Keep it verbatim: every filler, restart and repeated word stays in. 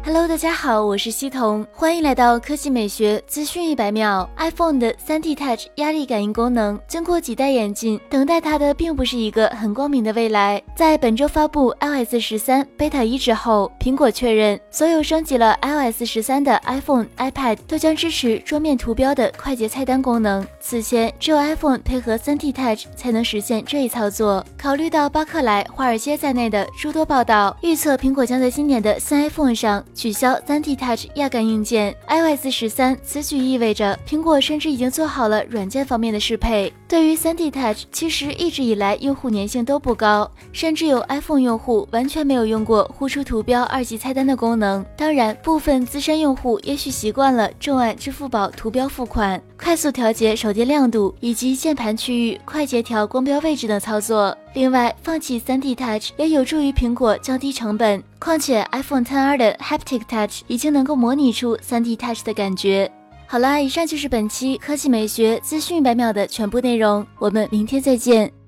Hello， 大家好，我是西彤，欢迎来到科技美学资讯一百秒。iPhone 的 三 D Touch 压力感应功能，经过几代演进，等待它的并不是一个很光明的未来。在本周发布 iOS 十三 Beta 一之后，苹果确认，所有升级了 iOS 十三的 iPhone、iPad 都将支持桌面图标的快捷菜单功能。此前，只有 iPhone 配合 三 D Touch 才能实现这一操作。考虑到巴克莱、华尔街在内的诸多报道，预测苹果将在今年的新 iPhone 上取消 三 D Touch 压感硬件。iOS 十三此举意味着苹果甚至已经做好了软件方面的适配。对于 三 D Touch， 其实一直以来用户粘性都不高，甚至有 iPhone 用户完全没有用过呼出图标二级菜单的功能。当然，部分资深用户也许习惯了重按支付宝图标付款、快速调节手电亮度以及键盘区域快捷调光标位置等操作。另外，放弃 三 D Touch 也有助于苹果降低成本，况且 iPhone X R 的 Haptic Touch 已经能够模拟出 三 D Touch 的感觉。好啦，以上就是本期科技美学资讯一百秒的全部内容，我们明天再见。